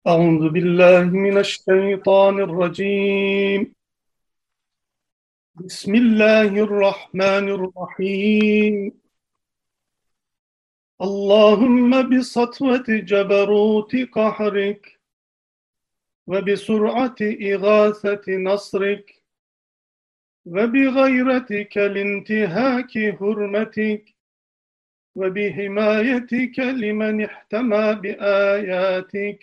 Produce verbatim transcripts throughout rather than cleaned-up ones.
أعوذ بالله من الشيطان الرجيم. بسم الله الرحمن الرحيم. اللهم بسطوة جبروت قهرك وبسرعة إغاثة نصرك وبغيرتك لانتهاك حرمتك وبحمايتك لمن احتمى بآياتك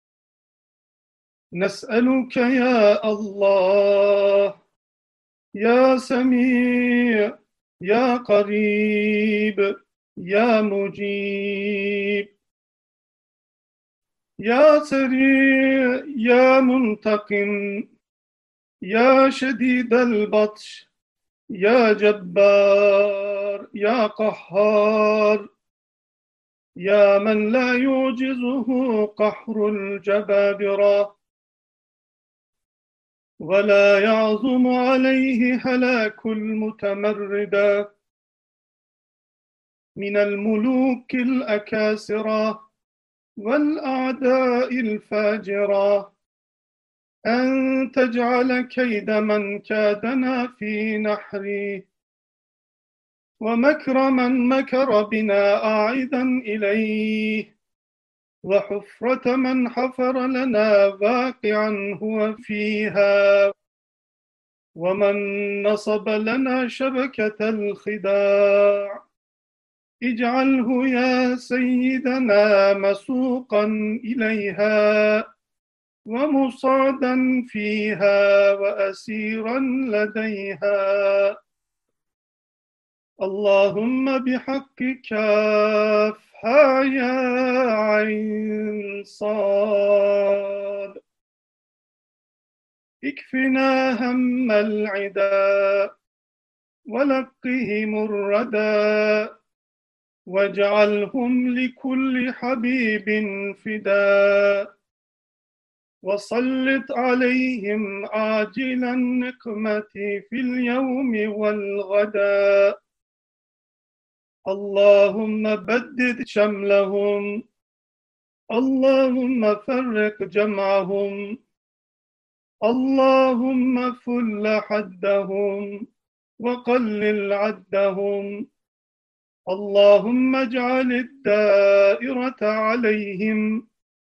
نسألك يا الله يا سميع يا قريب يا مجيب يا سريع يا منتقم يا شديد البطش يا جبار يا قهار يا من لا يعجزه قهر الجبابرة ولا يعظم عليه هلاك المتمردة من الملوك الأكاسرة والأعداء الفاجرة أن تجعل كيد من كادنا في نحري ومكر من مكر بنا أعيدا إليه وحفرة من حفر لنا واقعا هو فيها ومن نصب لنا شبكة الخداع اجعله يا سيدنا مسوقا إليها ومصادا فيها وأسيرا لديها. اللهم بحق كافها يا عين صاد اكفنا هم العدا ولقهم الردى واجعلهم لكل حبيب فداء وسلط عليهم عاجل النقمة في اليوم والغداء. اللهم بدد شملهم اللهم فرق جمعهم اللهم فل حدهم وقلل عدهم. اللهم اجعل الدائرة عليهم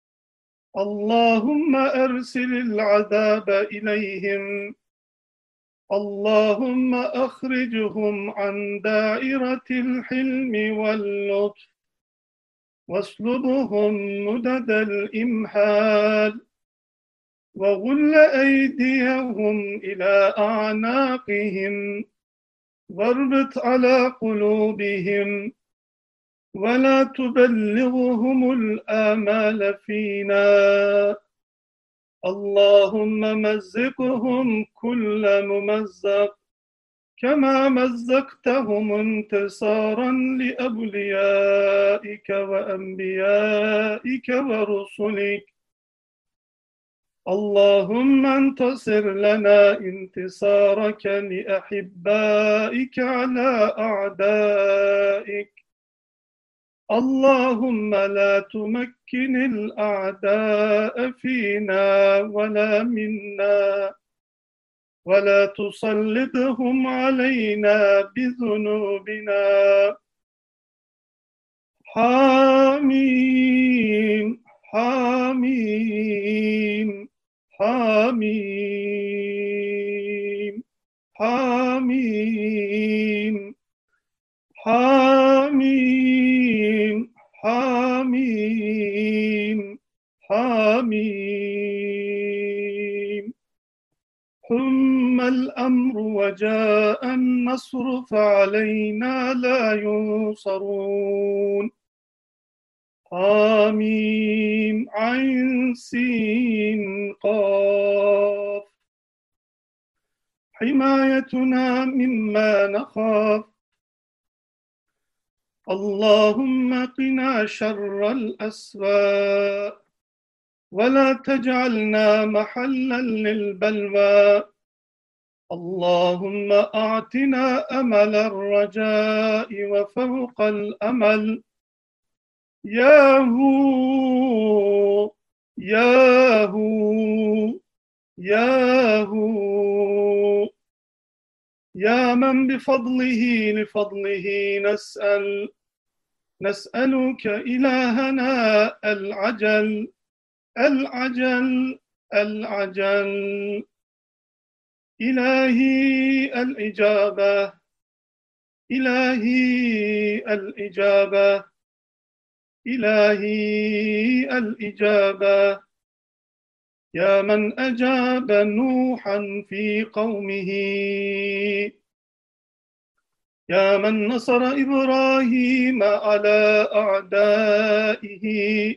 اللهم أرسل العذاب إليهم اللهم أخرجهم عن دائرة الحلم واللطف واسلبهم مدد الإمهال وغل أيديهم إلى أعناقهم واربط على قلوبهم ولا تبلغهم الآمال فينا. اللهم مزقهم كل ممزق كما مزقتهم انتصارا لأوليائك وأنبيائك ورسلك. اللهم انتصر لنا انتصارك لأحبائك على أعدائك. اللهم لا تمكن الأعداء فينا ولا منا ولا تسلطهم علينا بذنوبنا. حاميم حاميم حاميم حاميم حاميم حاميم حاميم. ثم الأمر وجاء النصر فعلينا لا ينصرون. حاميم عين سين قاف. حمايتنا مما نخاف. اللهم قنا شر الأسواء ولا تجعلنا محلا للبلوى. اللهم أعطنا أمل الرجاء وفوق الأمل. يا هو ياهو ياهو يا من بفضله لفضله نسأل نسألك إلهنا العجل العجل العجل إلهي الإجابة إلهي الإجابة إلهي الإجابة يا من أجاب نوحا في قومه يا من نصر إبراهيم على أعدائه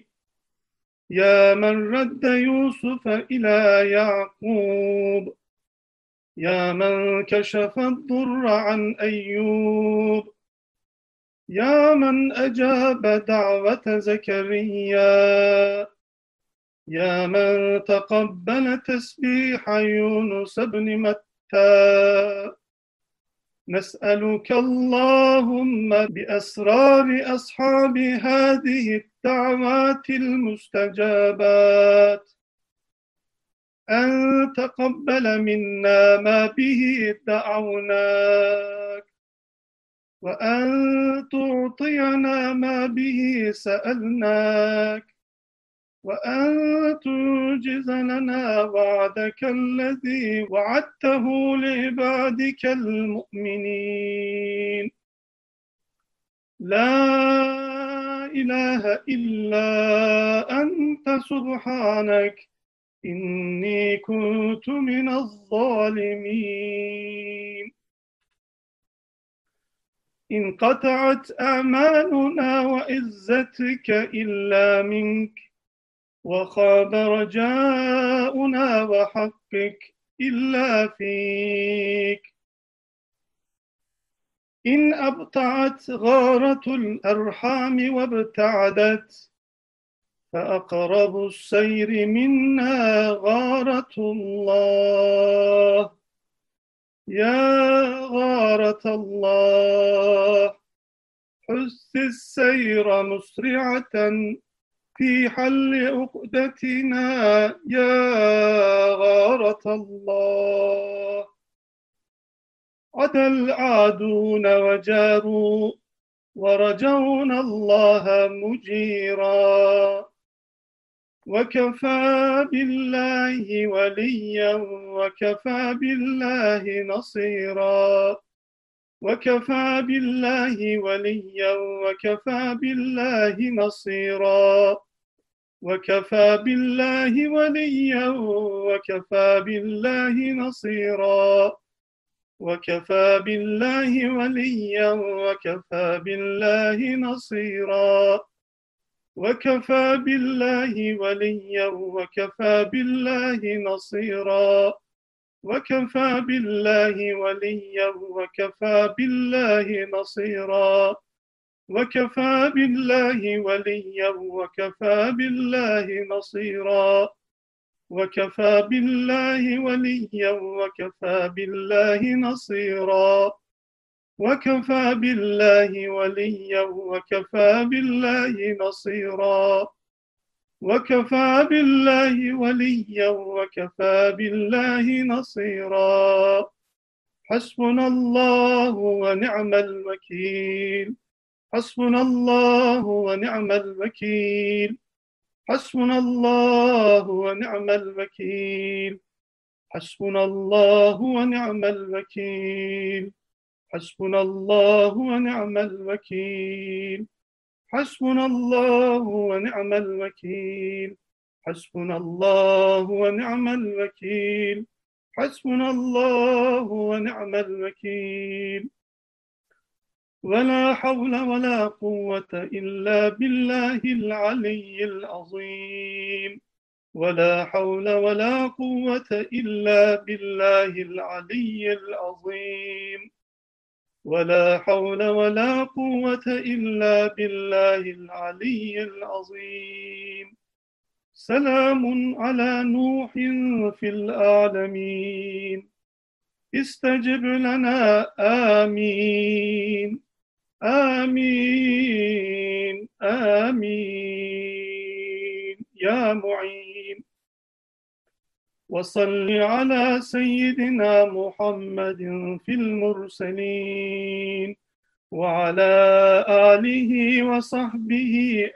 يا من رد يوسف إلى يعقوب يا من كشف الضر عن أيوب يا من أجاب دعوة زكريا يا من تقبل تسبيح يونس بن متى نسألك اللهم بأسرار أصحاب هذه الدعوات المستجابات أن تقبل منا ما به دعوناك وأن تعطينا ما به سألناك وأن تنجز لنا وعدك الذي وعدته لعبادك المؤمنين لا إله إلا أنت سبحانك إني كنت من الظالمين انقطعت أعمالنا وعزتك إلا منك وخاب رجاؤنا وحقك إلا فيك إن أبطعت غارة الأرحام وابتعدت فأقرب السير منا غارة الله يا غارة الله حث السير مسرعة في حل عقدتنا يا غارة الله عدا العادون وجاروا ورجونا الله مجيرا وكفى بالله وليا وكفى بالله نصيرا وكفى بالله وليا وكفى بالله نصيرا وكفى بالله وليا وكفى بالله نصيرا وكفى بالله وليا وكفى بالله نصيرا وكفى بالله وليا وكفى بالله نصيرا وكفى بالله وليا وكفى بالله نصيرا وكفى بالله وليا وكفى بالله نصيرا وكفى بالله وليا وكفى بالله نصيرا وكفى بالله وليا وكفى بالله نصيرا وكفى بالله وليا وكفى بالله نصيرا حسبنا الله ونعم الوكيل حسبنا الله ونعم الوكيل حسبنا الله ونعم الوكيل حسبنا الله ونعم الوكيل حسبنا الله ونعم الوكيل حسبنا الله ونعم الوكيل حسبنا الله ونعم الوكيل حسبنا الله ونعم الوكيل ولا حول ولا قوة إلا بالله العلي العظيم ولا حول ولا قوة إلا بالله العلي العظيم ولا حول ولا قوة إلا بالله العلي العظيم سلام على نوح في العالمين استجب لنا آمين آمين آمين يا معين وصل على سيدنا محمد في المرسلين وعلى آله وصحبه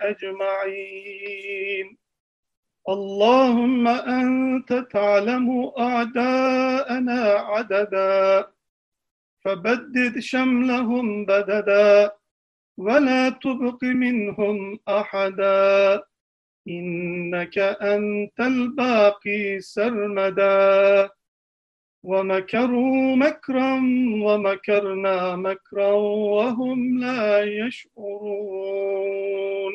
أجمعين. اللهم أنت تعلم أعداءنا عددا، فبدد شملهم بددا، ولا تبق منهم أحدا، إنك أنت الباقي سرمدا. ومكروا مكرا ومكرنا مكرا وهم لا يشعرون.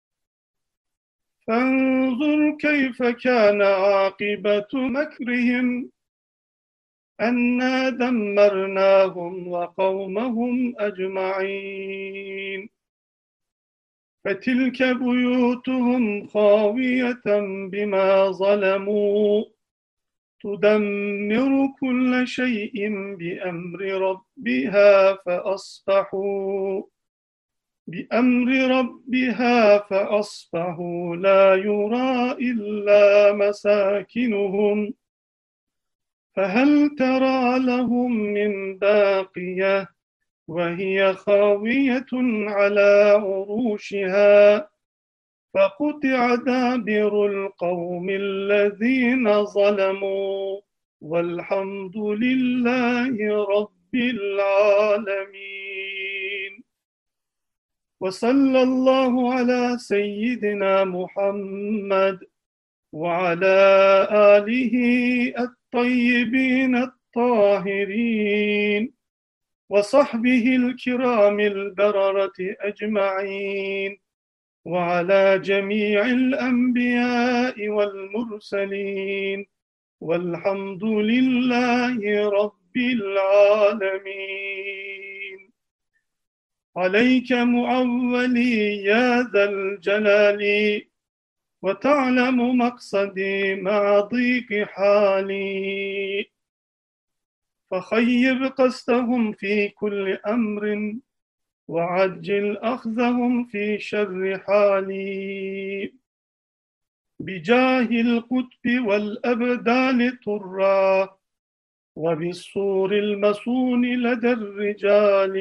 فانظر كيف كان عاقبة مكرهم أنا دمرناهم وقومهم أجمعين. فتلك بيوتهم خاوية بما ظلموا تدمر كل شيء بأمر ربها فأصبحوا بأمر ربها فأصبحوا لا يرى إلا مساكنهم فهل ترى لهم من باقية وهي خاوية على عروشها فقطع دابر القوم الذين ظلموا والحمد لله رب العالمين. وصلى الله على سيدنا محمد وعلى آله الطيبين الطاهرين وصحبه الكرام البررة أجمعين وعلى جميع الأنبياء والمرسلين والحمد لله رب العالمين. عليك معولي يا ذا الجلال وتعلم مقصدي مع ضيق حالي، فخيب قصدهم في كل أمر وعجل أخذهم في شر حالي. بجاه القطب والأبدال طرا وبالصور المسون لدى الرجال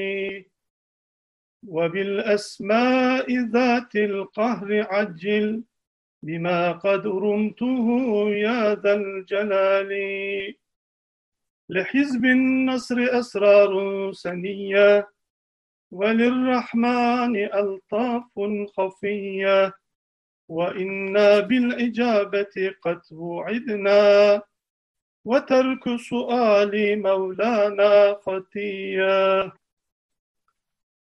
وبالأسماء ذات القهر عجل بما قد رمته يا ذا الجلال. لحزب النصر أسرار سنية وللرحمن ألطاف خفية وإنا بالإجابة قد وعدنا وترك سؤال مولانا خطية.